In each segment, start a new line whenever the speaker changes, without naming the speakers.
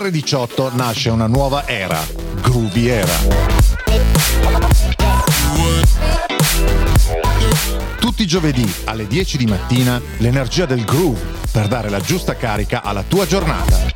R18 nasce una nuova era, Groovy Era. Tutti i giovedì alle 10 di mattina l'energia del groove per dare la giusta carica alla tua giornata.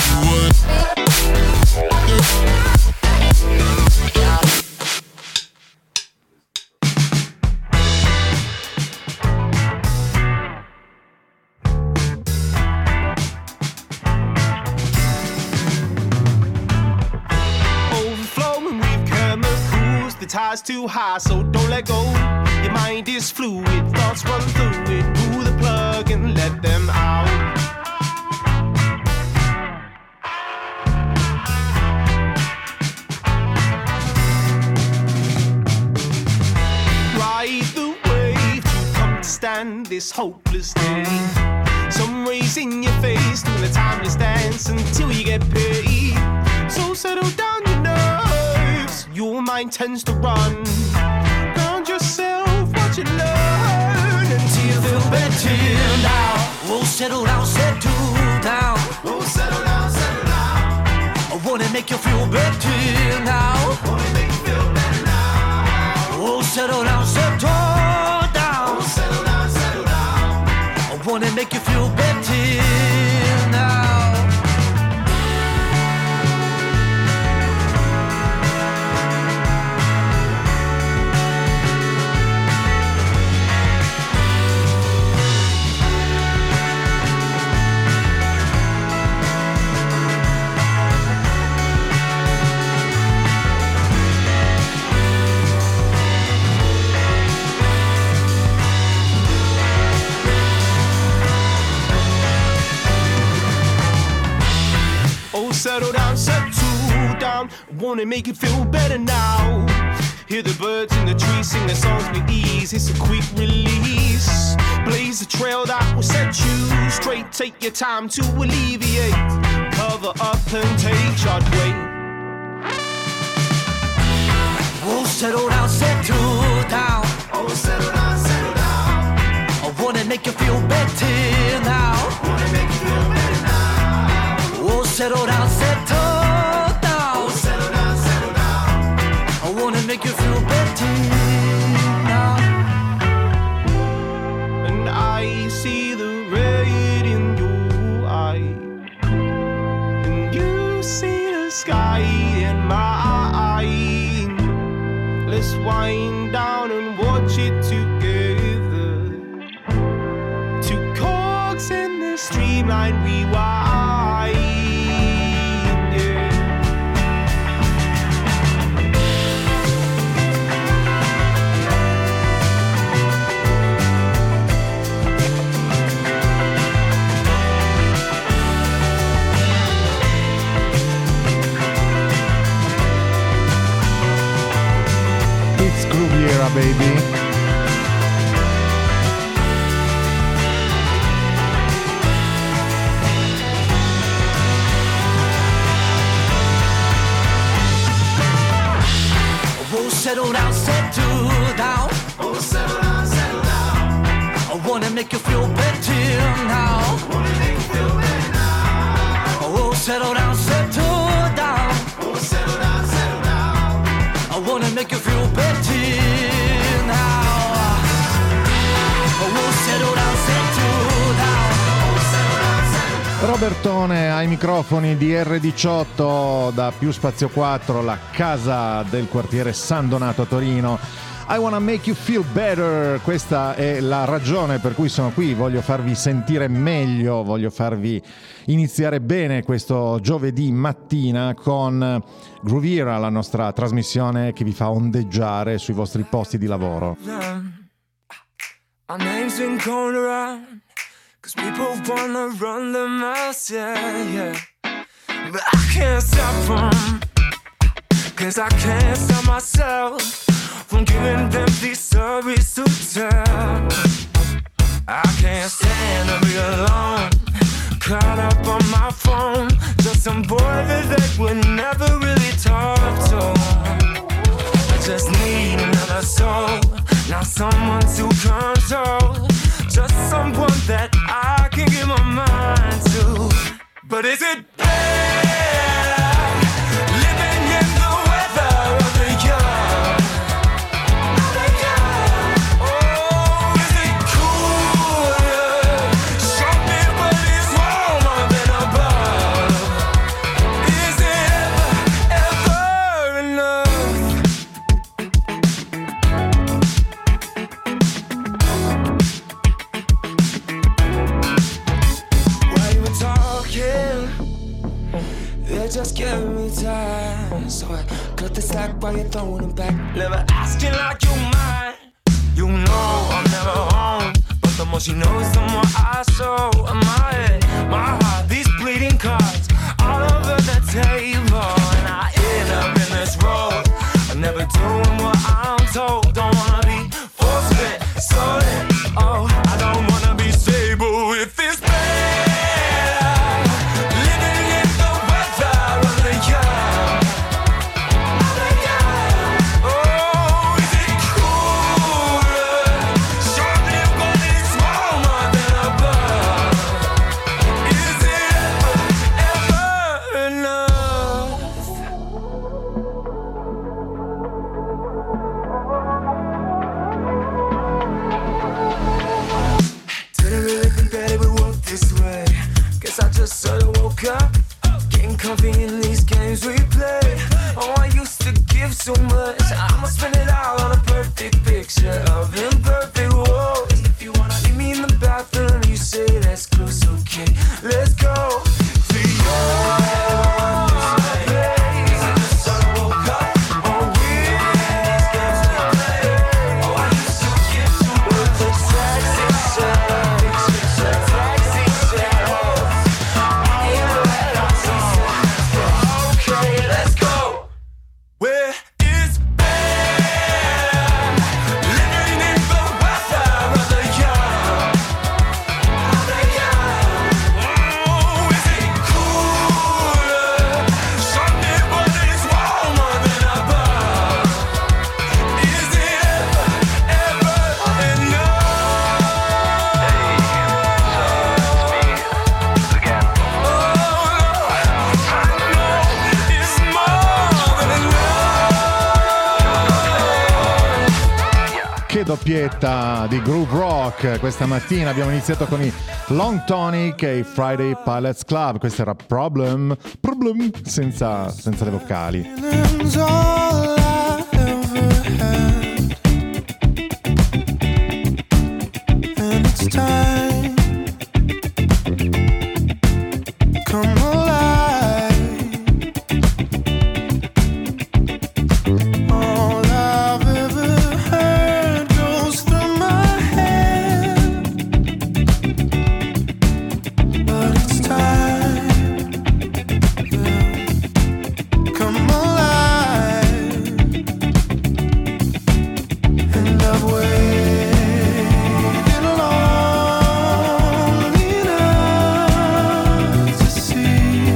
Ties too high, so don't let go. Your mind is fluid, thoughts run through it. Pull the plug and let them out. Ride the wave to come to stand this hopeless day. Some rays in your face doing a timeless dance until you get paid. So settle down your nerves, your mind tends to run. Ground yourself, watch it learn until you feel better now.
Oh, settle down, settle down.
Oh, settle down, settle down.
I wanna make you feel better now.
Wanna make you feel better now.
Oh, settle down, settle down.
Oh, settle down, settle down.
I wanna make you feel better now.
Settle down, settle down. Wanna make it feel better now. Hear the birds in the trees sing their songs with ease. It's a quick release. Blaze a trail that will set you straight. Take your time to alleviate. Cover up and take charge. Wait.
Oh, settle down, settle down.
Oh, settle down, settle down.
I wanna make you feel better now.
Wanna make you feel better now.
Oh, settle down, settle down.
Oh, settle down, settle down.
I wanna make you feel better now.
And I see the red in your eye, and you see the sky in mine. Let's wind down and watch it together. Two cogs in the streamline rewind.
Groovy Era, baby.
Oh, settle down, settle down.
Oh, settle down, settle down.
I wanna make you feel better now.
Wanna make you feel better now.
Oh, settle down, settle down.
Oh, settle down, settle down.
I wanna make you feel better now. Oh, settle down, settle down.
Oh, settle down, settle down.
Robertone ai microfoni di R18 da Più Spazio 4, la casa del quartiere San Donato a Torino. I wanna make you feel better, questa è la ragione per cui sono qui, voglio farvi sentire meglio, voglio farvi iniziare bene questo giovedì mattina con Groovy Era, la nostra trasmissione che vi fa ondeggiare sui vostri posti di lavoro.
Our name's been going around, 'cause people wanna run the mouth, yeah. But I can't stop them, 'cause I can't stop myself from giving them these stories to tell. I can't stand to be alone, caught up on my phone, just some boy that they would never really talk to. I just need another soul, not someone to control, just someone that I can give my mind to. But is it bad So I cut the sack while you're throwing them back. Never asking like you mine. You know I'm never home, but the more she knows, the more I show. My head, my heart, these bleeding cards all over the table, and I end up in this road. I'm never doing what I'm told. Don't wanna be force-fed, stolen. Oh, I don't wanna be stable if it's better living in the weather of the young. Oh, is it cooler? Surely what is warmer than above? Is it ever enough? Didn't really think that it would work this way. Guess I just sort of woke up, getting comfy in these games we play. Oh, I used to give so much, I'ma spend it all on a perfect picture of imperfect worlds. If you wanna leave me in the bathroom, you say that's close, okay, let's go to your place. I just sort of woke up, oh, weird these games we play. Oh, I used to give so much, a taxi shell. Okay, let's go. Where is better? Living in the weather of the young. Oh, is it cooler? Sunday, but it's warmer than above. Is it ever enough?
Hey, it's me again.
It's more than enough.
Che doppietta di groove rock questa mattina. Abbiamo iniziato con i Long Tonic e i Friday Pilots Club. Questo era Problem senza le vocali.
Feeling's all I ever had, and it's time. Come alive. All I've ever heard goes through my head, but it's time. Yeah. Come alive. And I've waited long enough to see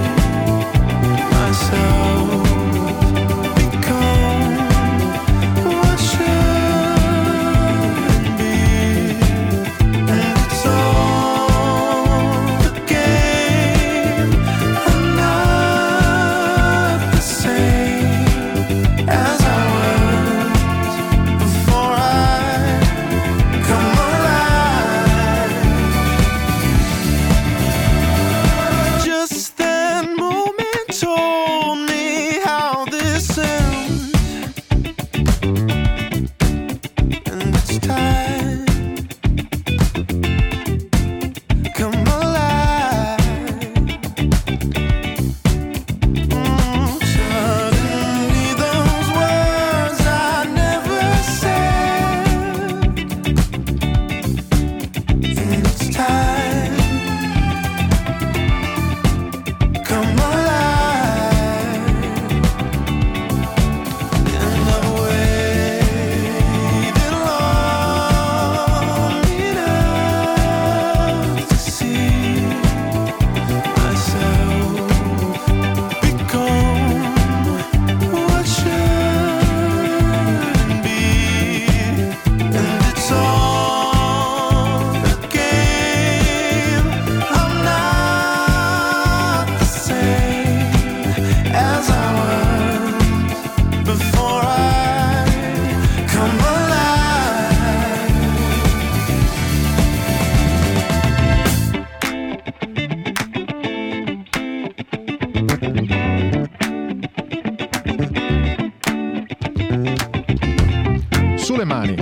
myself become what shouldn't be. And it's all a game. I'm not the same as I was before I come alive. Just that moment told me how this ends, and it's time. Come alive. Suddenly those words I never said, and it's time. Come alive. And I've waited long enough to see myself become what shouldn't be. And it's all a game. I'm not the same as I was before I come alive.
Sulle mani.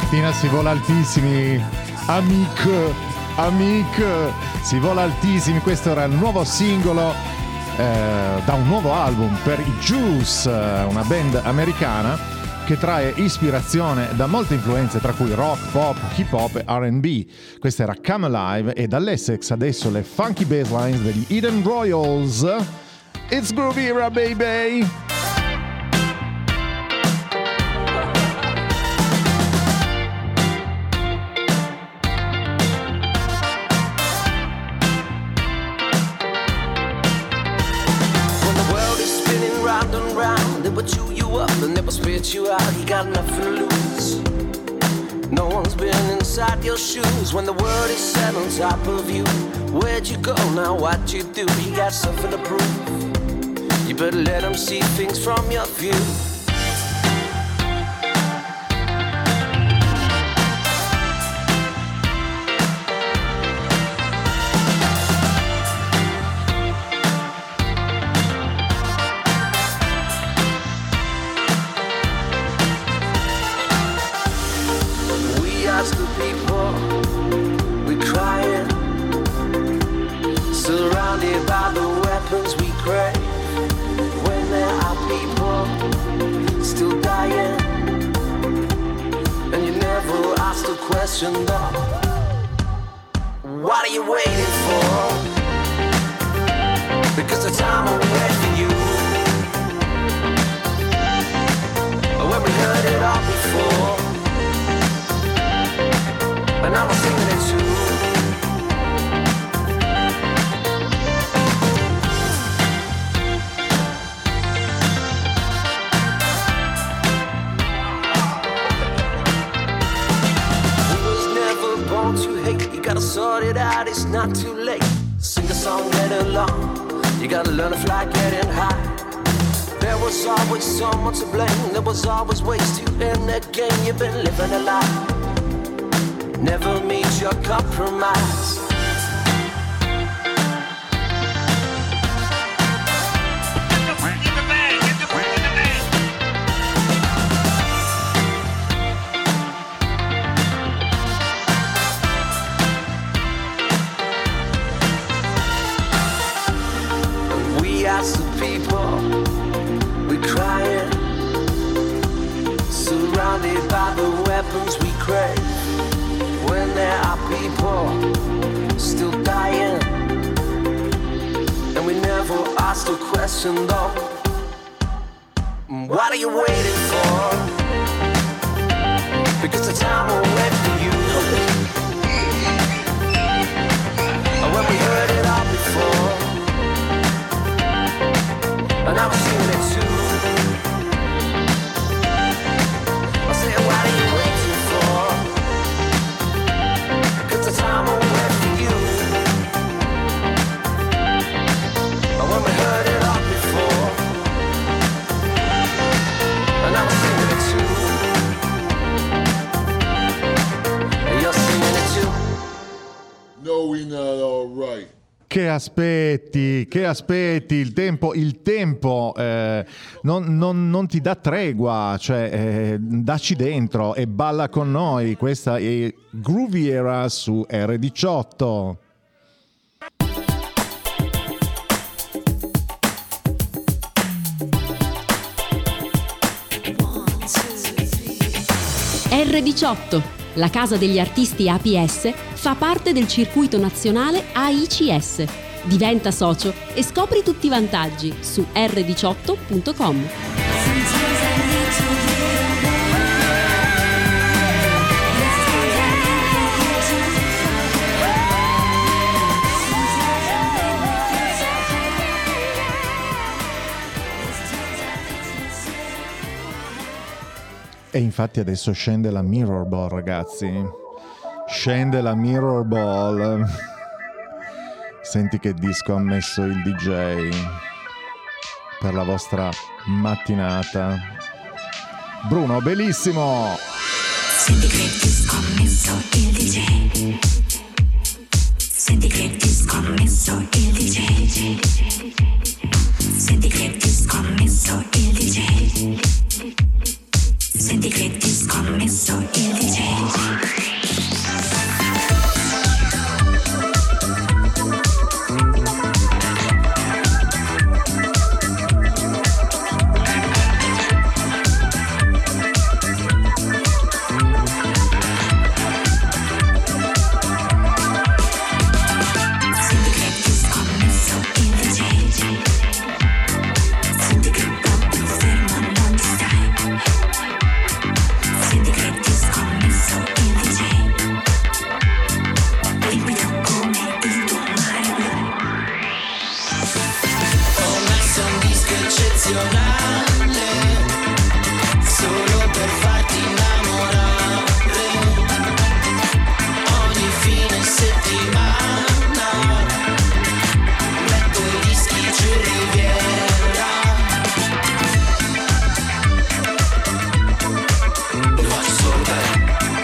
mattina si vola altissimi, amic, si vola altissimi. Questo era il nuovo singolo da un nuovo album per i Juice, una band americana che trae ispirazione da molte influenze, tra cui rock, pop, hip hop e R&B. Questa era Come Alive, e dall'Essex adesso le funky basslines degli Eden Royals. It's Groovy Era, baby!
Chew you up and never spit you out. You got nothing to lose. No one's been inside your shoes when the world is set on top of you. Where'd you go now? What you do? You got something to prove. You better let them see things from your view. What are you waiting for? Because the time will wait for you. When we heard it all before, and I was singing it too. Gotta sort it out, it's not too late. Sing a song, get along. You gotta learn to fly, getting high. There was always someone to blame. There was always ways to end the game. You've been living a lie. Never meet your compromise. By the weapons we crave, when there are people still dying, and we never ask the question though, what are you waiting for? Because the time will wait for you. When we heard it all before, and I was singing it too. What are you waiting for? 'Cause the time will wait for you. When we heard it all before, and I was singing it too. And you're singing it too.
No, we're not all right.
Che aspetti, il tempo non ti dà tregua, cioè dacci dentro e balla con noi. Questa è Groovy Era su R18.
R18, la casa degli artisti APS, fa parte del circuito nazionale AICS. Diventa socio e scopri tutti i vantaggi su r18.com.
E infatti adesso scende la Mirror Ball, ragazzi. Scende la Mirror Ball. Senti che disco ha messo il DJ per la vostra mattinata. Bruno, bellissimo!
Senti che disco ha messo il DJ. Senti che disco ha messo il DJ. Senti che disco ha messo il DJ. Senti che disco ha messo il DJ.
eccezionale, solo per farti innamorare, ogni fine settimana, metto i dischi giù in Riviera, lo faccio solo per te.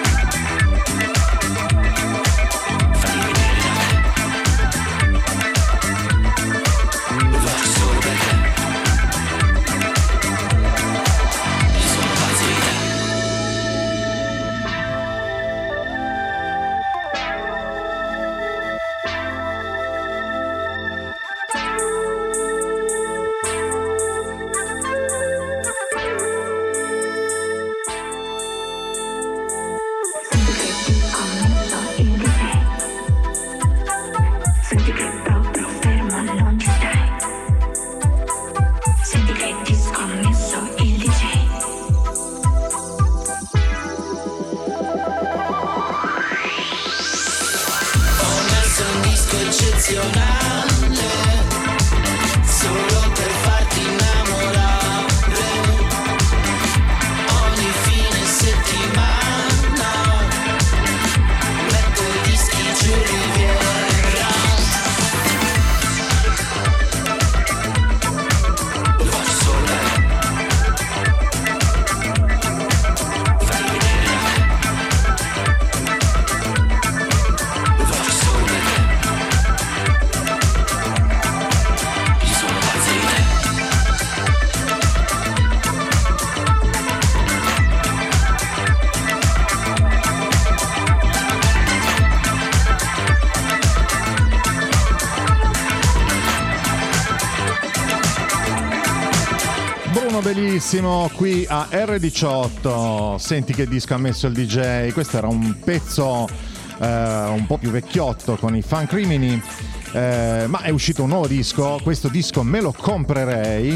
Bellissimo qui a R18. Senti che disco ha messo il DJ. Questo era un pezzo un po' più vecchiotto con i Funk Crimini, ma è uscito un nuovo disco. Questo disco me lo comprerei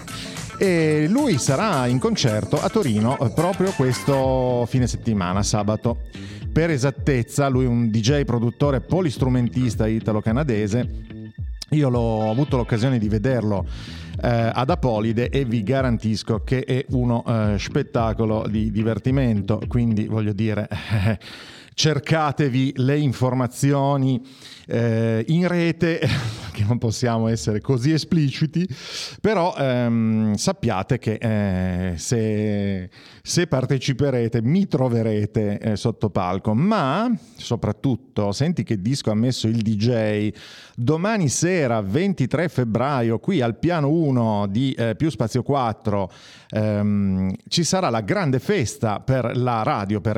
e lui sarà in concerto a Torino proprio questo fine settimana, sabato. Per esattezza, lui è un DJ produttore polistrumentista italo-canadese. Io ho avuto l'occasione di vederlo ad Apolide e vi garantisco che è uno spettacolo di divertimento, quindi voglio dire cercatevi le informazioni in rete, che non possiamo essere così espliciti, però sappiate che se parteciperete mi troverete sotto palco, ma soprattutto senti che disco ha messo il DJ. Domani sera 23 febbraio qui al piano 1 di Più Spazio 4 ci sarà la grande festa per la radio, per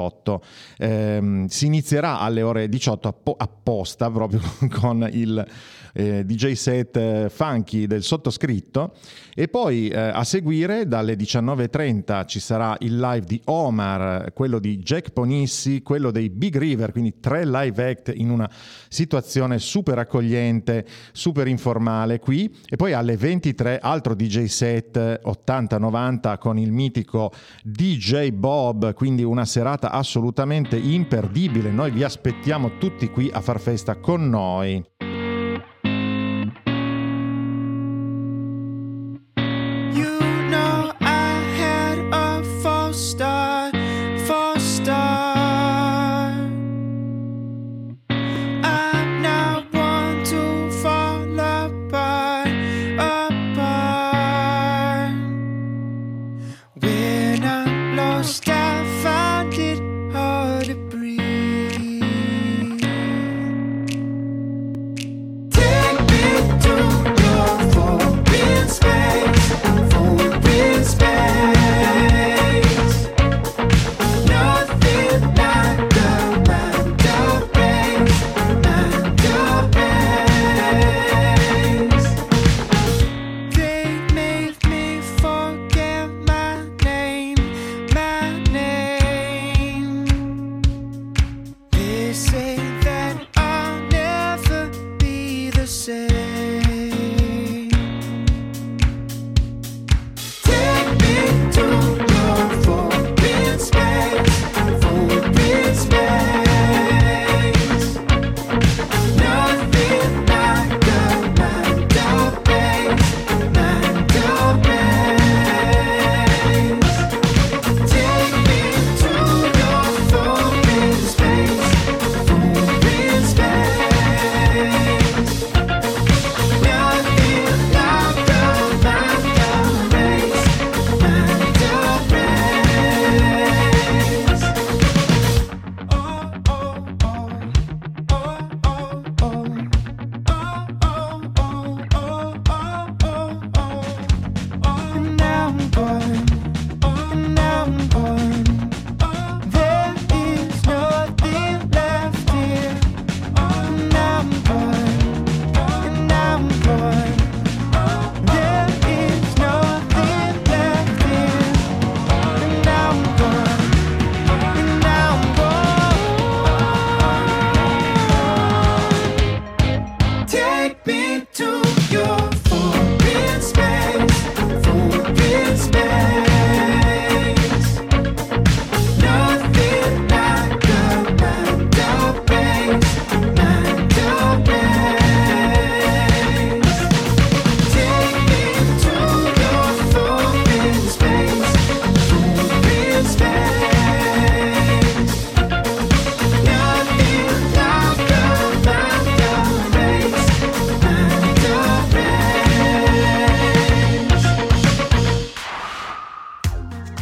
R18. Si inizierà alle ore 18 apposta proprio con il DJ set funky del sottoscritto, e poi a seguire dalle 19.30 ci sarà il live di Omar, quello di Jack Ponissi, quello dei Big River, quindi 3 live act in una situazione super accogliente, super informale qui, e poi alle 23 altro DJ set 80-90 con il mitico DJ Bob, quindi una serata assolutamente imperdibile. Noi vi aspettiamo tutti qui a far festa con noi.
Take me to your forbidden space.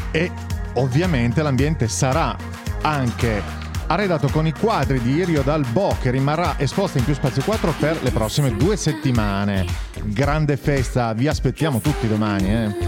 e ovviamente l'ambiente sarà anche arredato con i quadri di Irio Dal Bo, che rimarrà esposta in Più Spazio 4 per le prossime 2 settimane. Grande festa, vi aspettiamo tutti domani,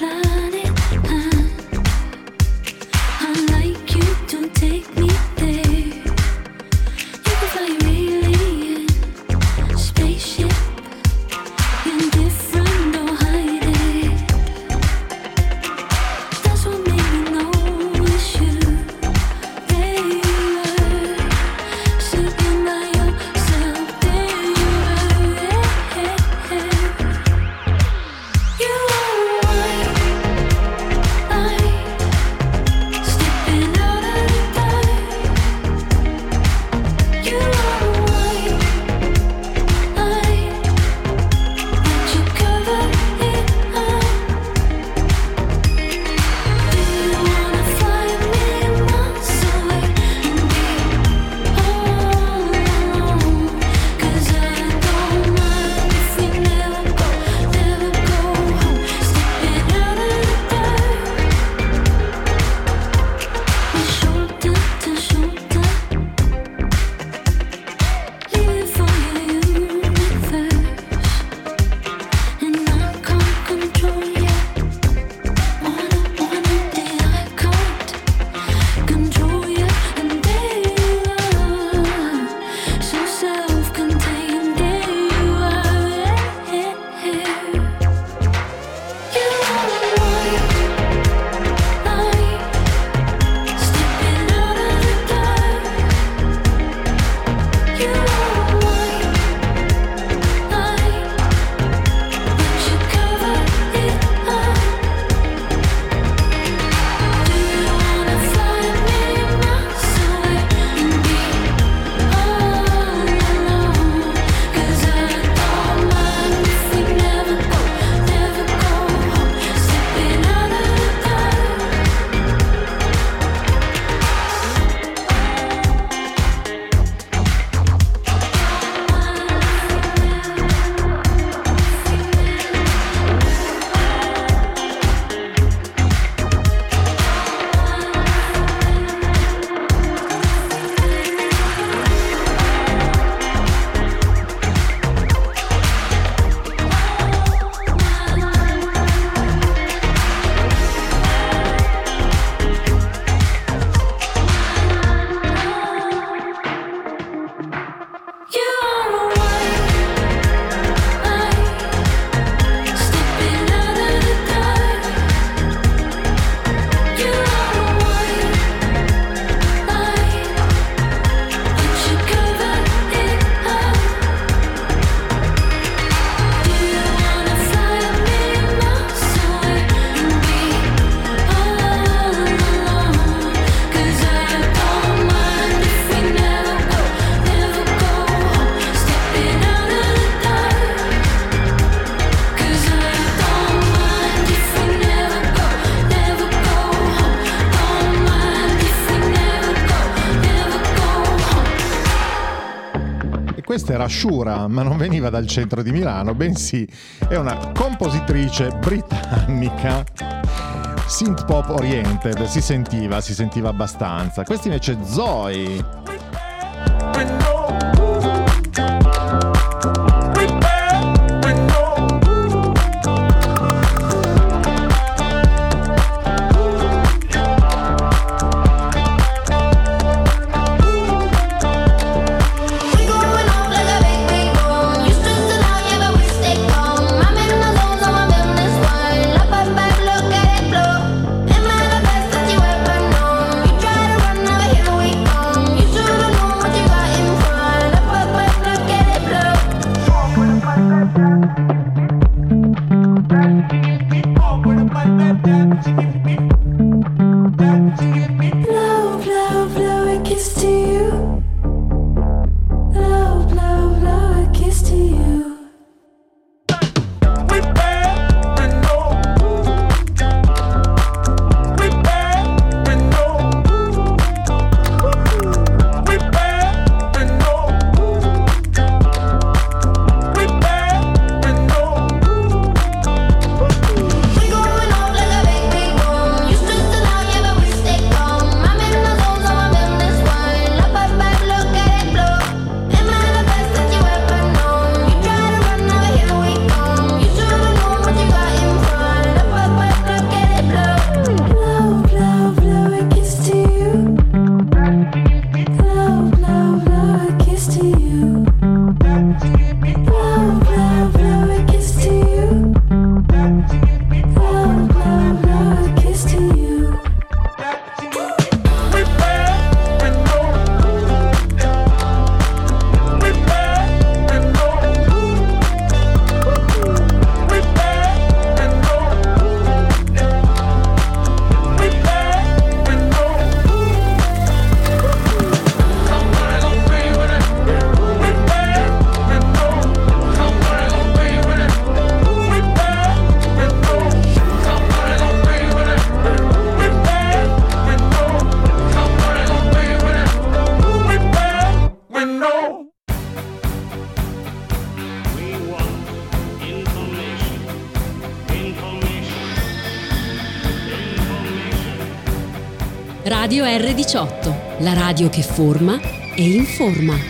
Questa era Shura, ma non veniva dal centro di Milano, bensì è una compositrice britannica synth pop oriented, si sentiva abbastanza. Questa invece è Zoe.
Radio R18, la radio che forma e informa.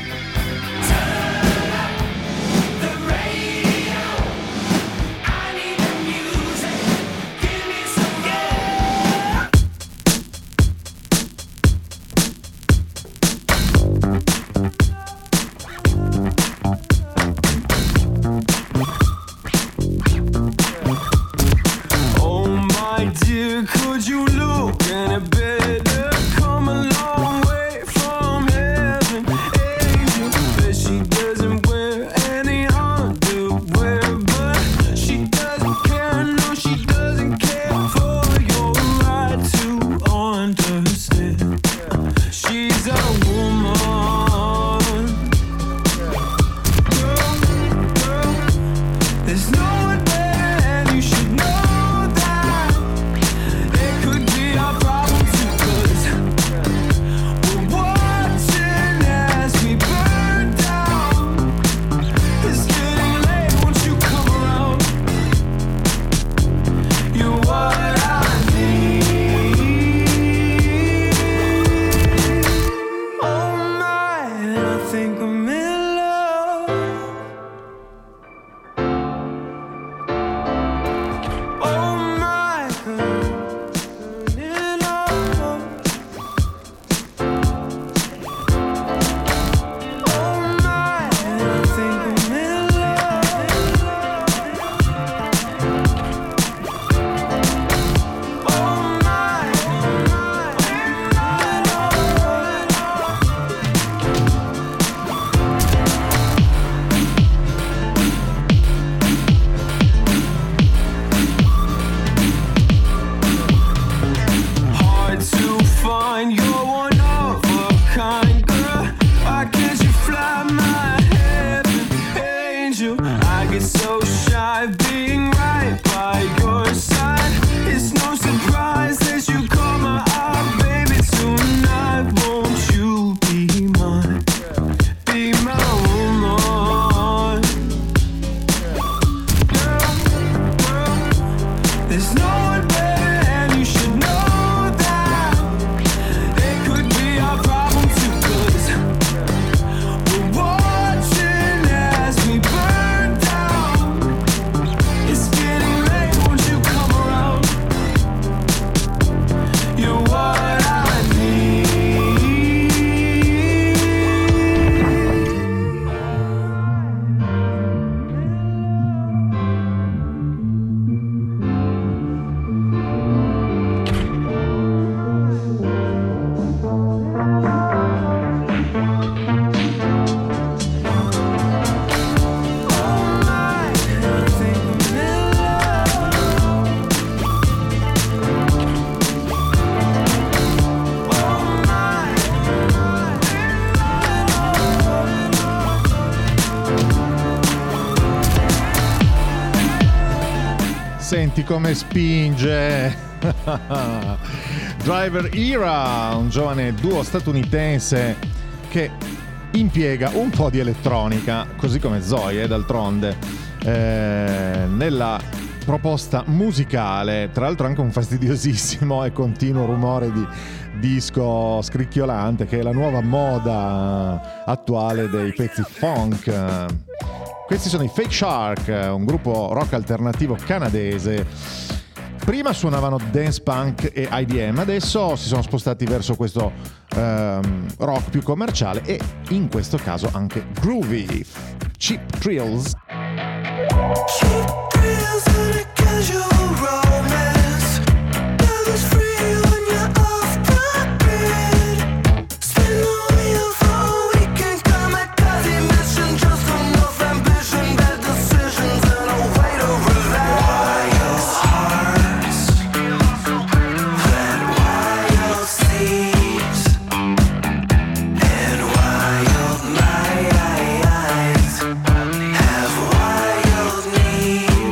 Senti come spinge Driver Era, un giovane duo statunitense che impiega un po' di elettronica, così come Zoe, d'altronde, nella proposta musicale. Tra l'altro anche un fastidiosissimo e continuo rumore di disco scricchiolante, che è la nuova moda attuale dei pezzi funk. Questi sono i Fake Shark, un gruppo rock alternativo canadese. Prima suonavano dance punk e IDM, adesso si sono spostati verso questo rock più commerciale e in questo caso anche groovy. Cheap Thrills.
Have wild needs.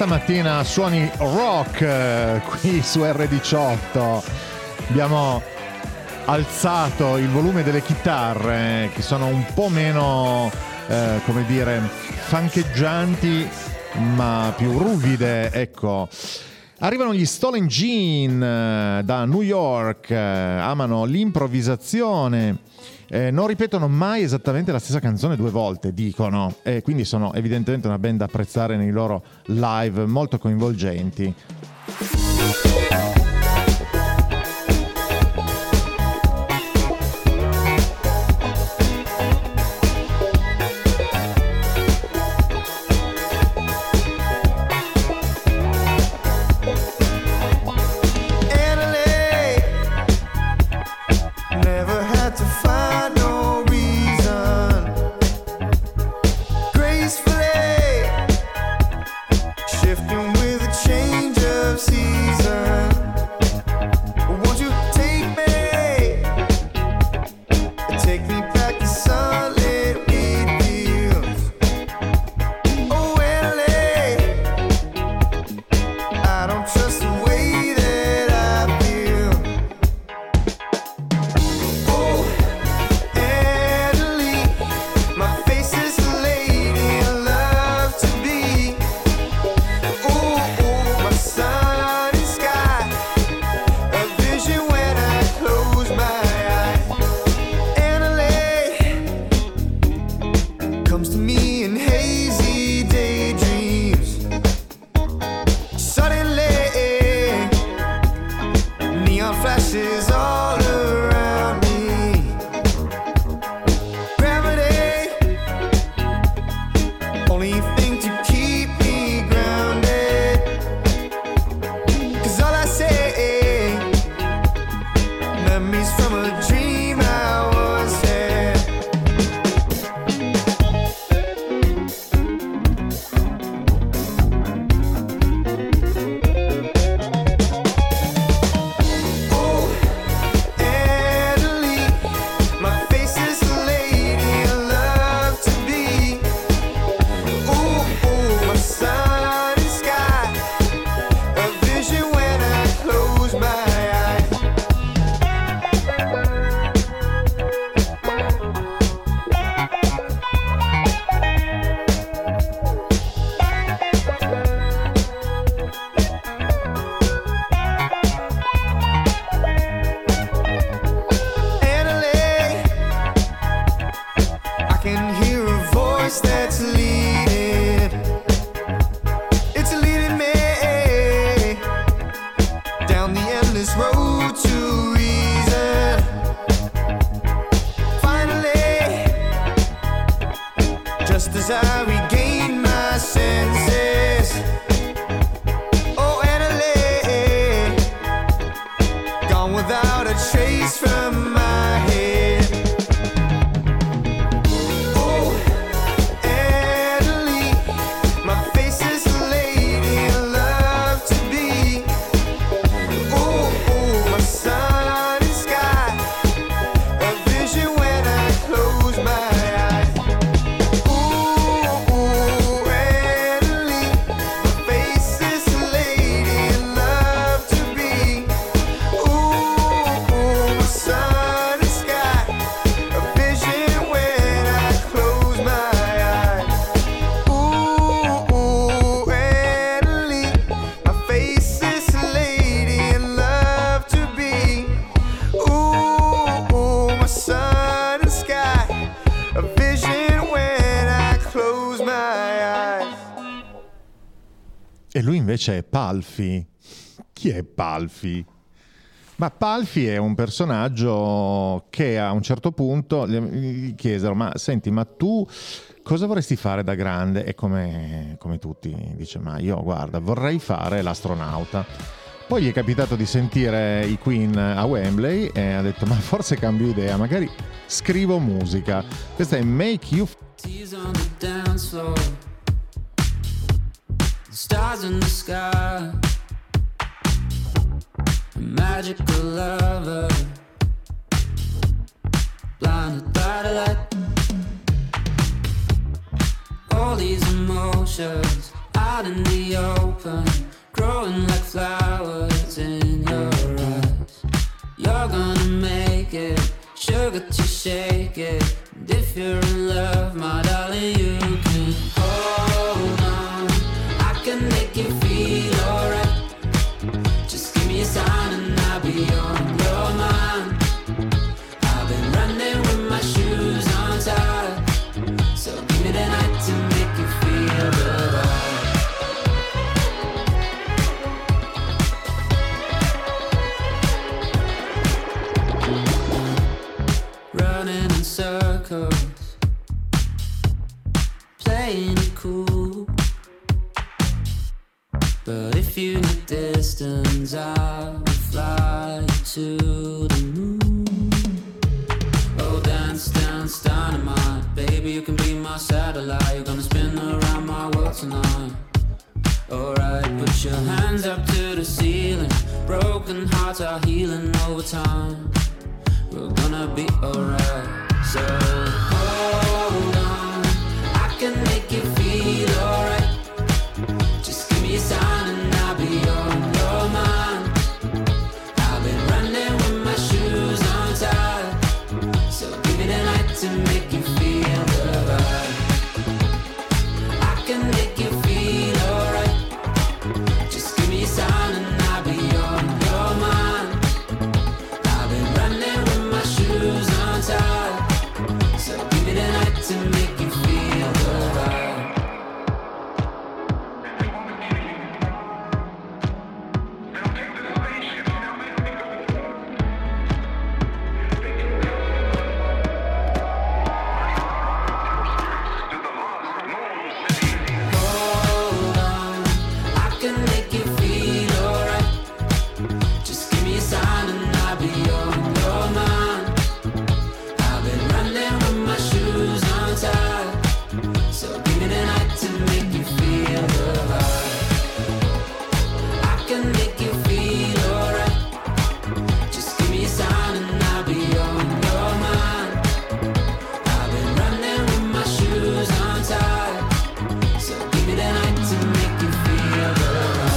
stamattina suoni rock qui su R18. Abbiamo alzato il volume delle chitarre che sono un po' meno come dire fancheggianti ma più ruvide, ecco. Arrivano gli Stolen Gene da New York, amano l'improvvisazione, non ripetono mai esattamente la stessa canzone due volte, dicono, e quindi sono evidentemente una band da apprezzare nei loro live molto coinvolgenti. E lui invece è Palfi. Chi è Palfi? Ma Palfi è un personaggio che a un certo punto gli chiesero: ma senti, ma tu cosa vorresti fare da grande? E come tutti dice: ma io guarda, vorrei fare l'astronauta. Poi gli è capitato di sentire i Queen a Wembley e ha detto: ma forse cambio idea, magari scrivo musica. Questa è Make You
Stars in the sky, a magical lover, blinded by the light. All these emotions I out in the open, growing like flowers in your eyes. You're gonna make it, sugar to shake it. And if you're in love, my darling, you can hold on. I can make you feel alright. Just give me a sign and I'll be on your mind. I've been running with my shoes untied, so give me the night to make you feel the vibe. Running in circles, playing it cool. But if you need distance, I will fly you to the moon. Oh, dance, dance, dynamite. Baby, you can be my satellite. You're gonna spin around my world tonight. Alright, put your hands up to the ceiling. Broken hearts are healing over time. We're gonna be alright. So hold on, I can make you feel alright. Just give me a sign and I'll be on your mind. I've been running with my shoes untied, so give me the night to make you feel the vibe. I can make you feel alright. Just give me a sign and I'll be on your mind. I've been running with my shoes untied, so give me the night to make you feel the vibe. Hold on, I can make you feel alright. Just give me a sign and I'll be on your mind. I've been running with my shoes untied, so give me the night to make you feel the vibe. I can make you feel alright. Just give me a sign and I'll be on your mind. I've been running with my shoes untied, so give me the night to make you feel the vibe.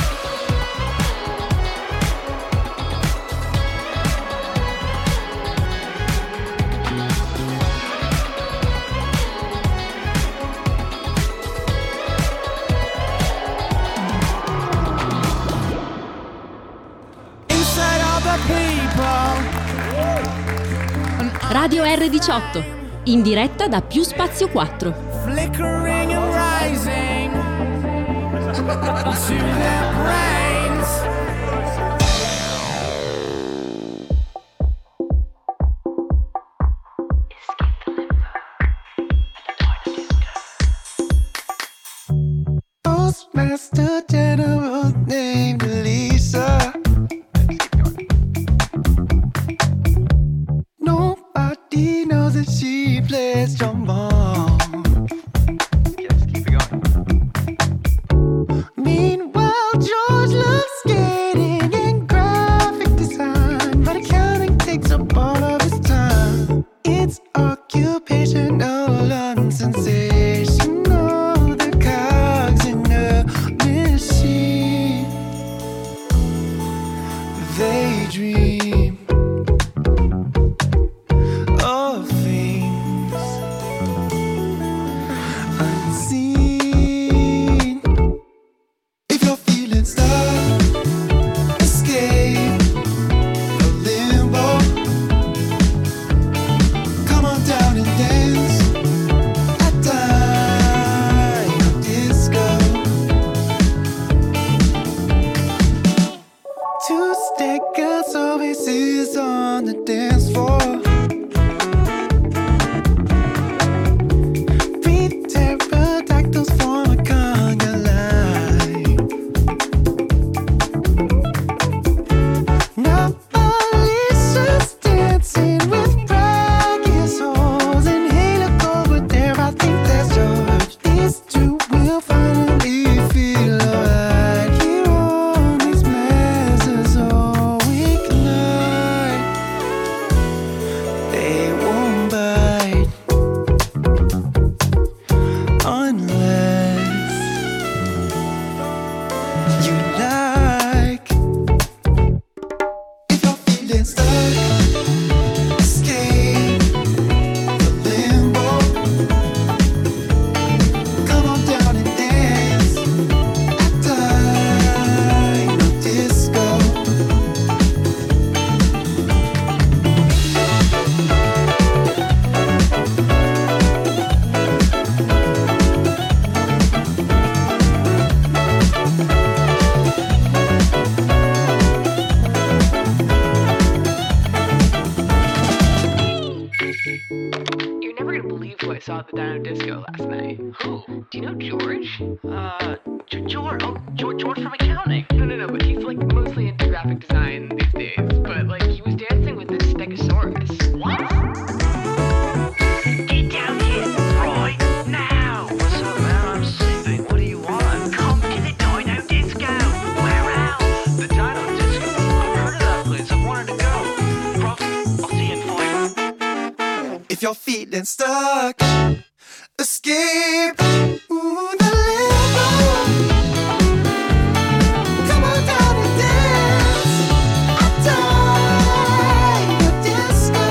Inside all the people.
Radio R18, in diretta da Più Spazio 4.
Flickering and rising to their brains. Postmaster General named Lisa. Nobody knows that she plays trombone. Meanwhile, George loves skating and graphic design, but accounting takes up all of his time. It's occupational and sensational, the cogs in a machine. They dream of things unseen. If you're feeling stuck, escape the limbo. Come on down and dance at Dino Disco. Two-step girls always is on the dance floor. Breathe pterodactyls form a conga line. Now Alicia's dancing with brachiosaurs and Halo Gold, but there I think there's George. These two will finally feel alright here on these messes all week night.
feeling stuck, escape the limbo. Come on down and dance at Dino Disco.
You're never gonna believe who I saw at the Dino Disco last night. Who? Do you know George? George? Oh, George from accounting. No, but he's like mostly into graphic design these days. But like, he was dancing with this Stegosaurus. What? Get down here right now.
What's up, man? I'm sleeping. What do you want?
Come to the Dino Disco. Where else?
The Dino Disco? I've heard of that place. I've wanted to go. Prof, I'll see you in 5.
If you're feeling stuck, escape the limbo. Come on down and dance at Dino Disco.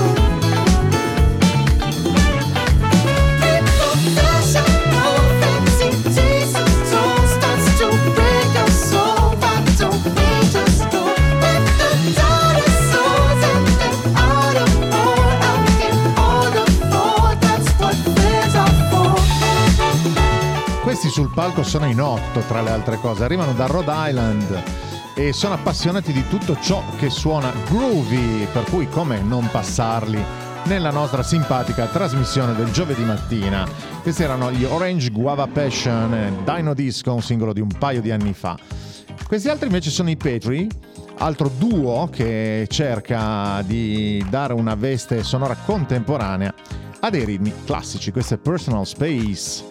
Keep professional, fancy Jesus tone starts to break your soul. Why don't we just go with the dinosaurs and the Autobot out in all the floor? That's what friends are for.
Questi sul palco sono in 8, tra le altre cose, arrivano da Rhode Island e sono appassionati di tutto ciò che suona groovy, per cui come non passarli nella nostra simpatica trasmissione del giovedì mattina. Questi erano gli Orange Guava Passion, Dino Disco, un singolo di un paio di anni fa. Questi altri invece sono i Petri, altro duo che cerca di dare una veste sonora contemporanea a dei ritmi classici. Questo è Personal Space.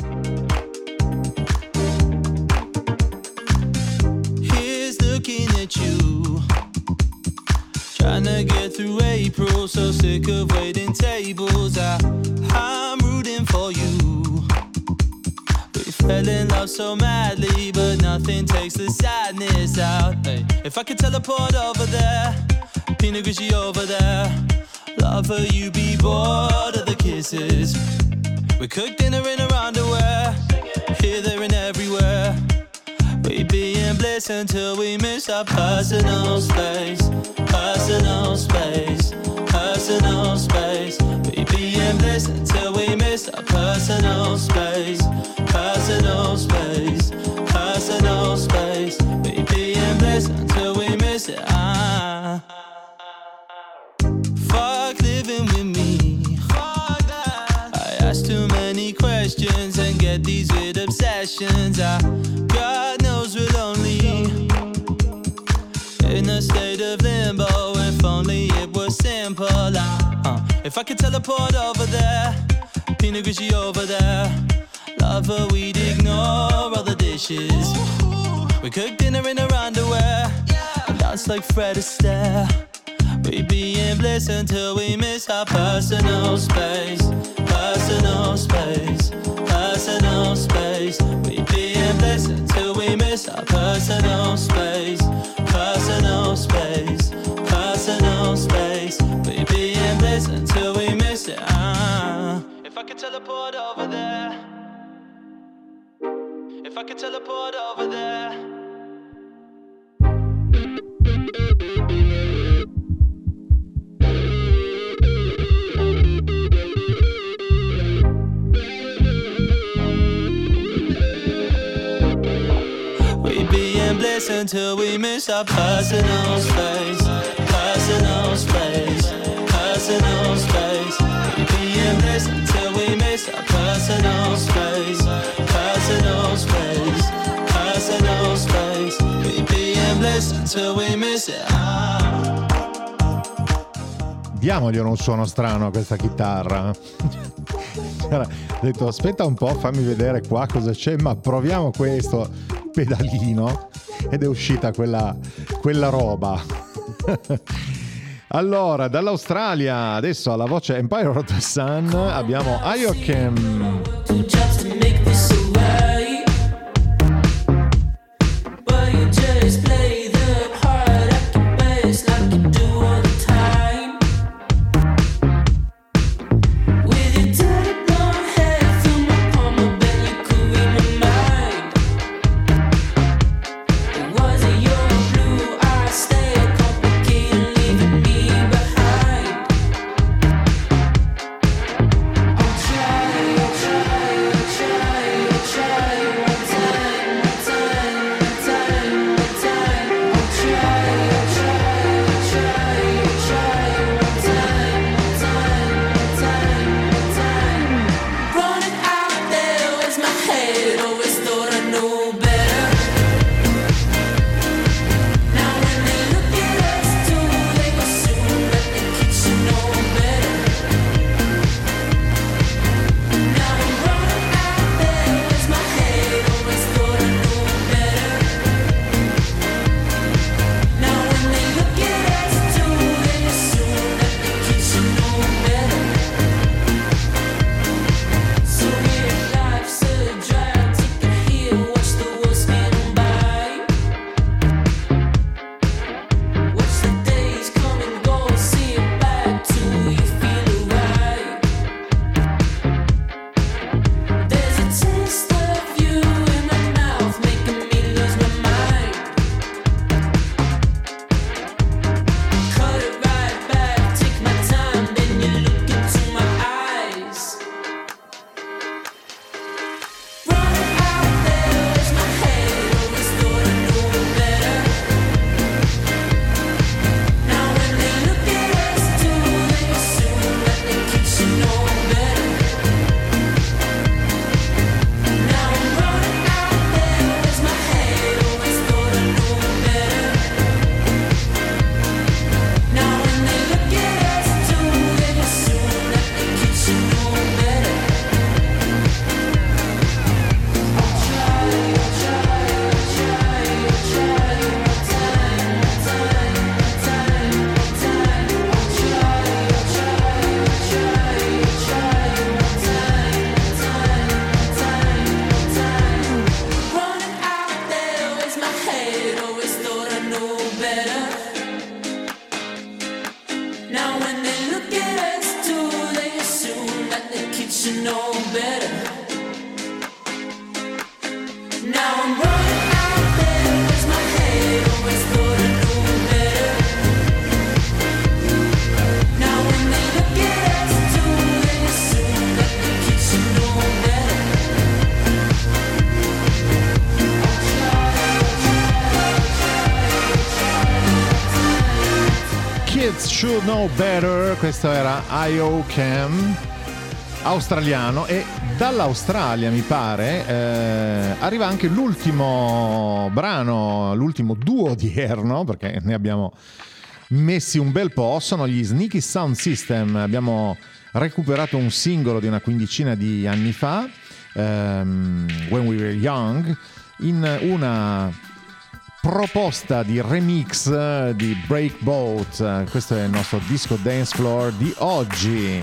Here's looking at you, trying to get through April, so sick of waiting tables. I'm rooting for you. We fell in love so madly, but nothing takes the sadness out. Hey, if I could teleport over there, Pinot Grigio over there, lover, you be bored of the kisses. We cook dinner in our underwear, here, there, and everywhere. We be in bliss until we miss our personal space. Personal space, personal space. We be in bliss until we miss our personal space. Personal space, personal space. We be in bliss until we miss it. Fuck living with me. Fuck that. I ask too many questions and get these weird obsessions. God knows we're lonely, in a state of limbo. If only it was simple. If I could teleport over there, Pinot Grigio over there, lover, we'd ignore all the dishes. We cook dinner in our underwear and dance like Fred Astaire. We be in bliss until we miss our personal space. Personal space, personal space. We be in bliss until we miss our personal space. Personal space, personal space. We be in bliss until we miss it. If I could teleport over there, if I could teleport over there. We be in bliss until we miss our personal space. Personal space, personal space. We be in bliss until we miss our personal space. Personal space, personal space. We be in bliss until we miss it.
Diamogli un suono strano a questa chitarra. Ho detto aspetta un po', fammi vedere qua cosa c'è, ma proviamo questo pedalino, ed è uscita quella roba. Allora, dall'Australia adesso alla voce Empire of the Sun abbiamo Ayokem.
Just play the part at the bass like you do on the
Kids Should Know Better, questo era I.O. Cam, australiano, e dall'Australia mi pare arriva anche l'ultimo brano, l'ultimo duo di Erno, perché ne abbiamo messi un bel po', sono gli Sneaky Sound System. Abbiamo recuperato un singolo di una quindicina di anni fa, When We Were Young, in una proposta di remix di Breakboat. Questo è il nostro disco dance floor di oggi.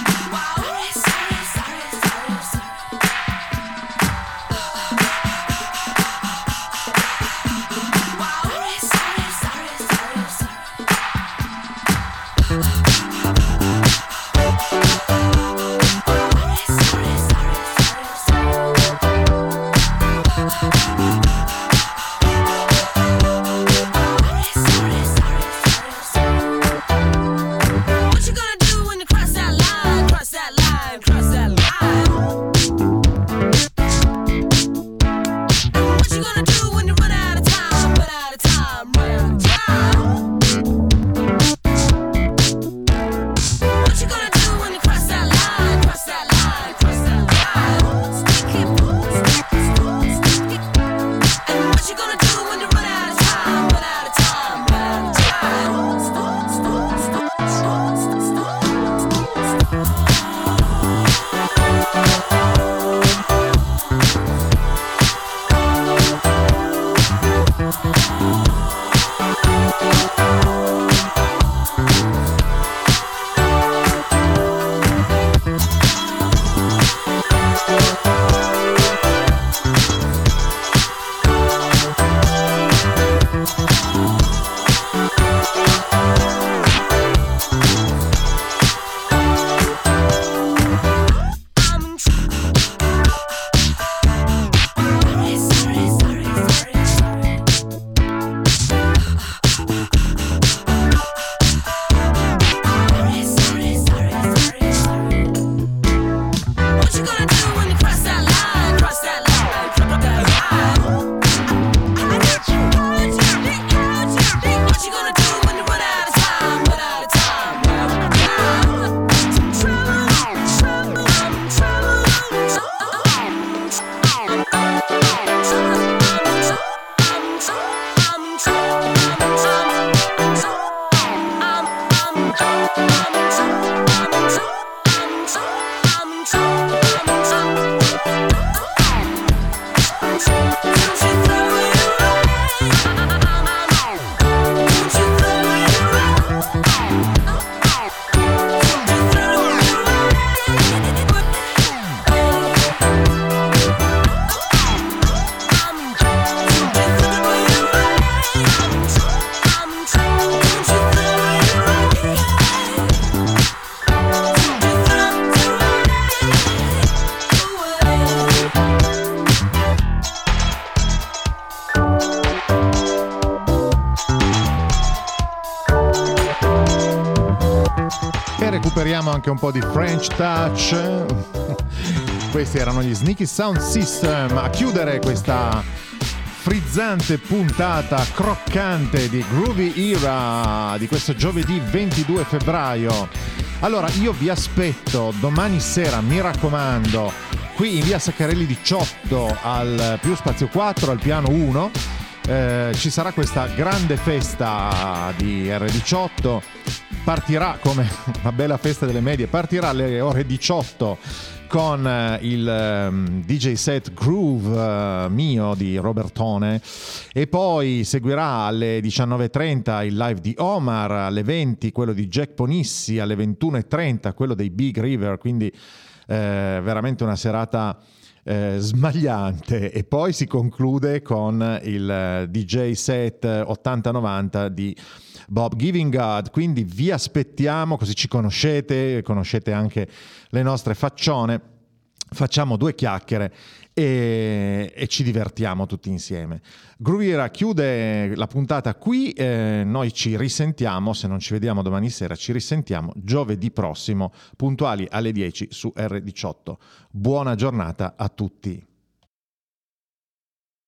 Recuperiamo anche un po' di French touch. Questi erano gli Sneaky Sound System a chiudere questa frizzante puntata croccante di Groovy Era di questo giovedì 22 febbraio. Allora io vi aspetto domani sera, mi raccomando, qui in via Saccarelli 18 al Più Spazio 4 al piano 1. Ci sarà questa grande festa di R18. Partirà come una bella festa delle medie, partirà alle ore 18 con il DJ set Groove mio di Robertone, e poi seguirà alle 19.30 il live di Omar, alle 20 quello di Jack Ponissi, alle 21.30 quello dei Big River, quindi veramente una serata smagliante, e poi si conclude con il DJ set 80-90 di Bob Giving God. Quindi vi aspettiamo, così ci conoscete anche le nostre faccione, facciamo due chiacchiere e ci divertiamo tutti insieme. Groovy Era chiude la puntata qui, noi ci risentiamo, se non ci vediamo domani sera ci risentiamo giovedì prossimo puntuali alle 10 su R18. Buona giornata a tutti.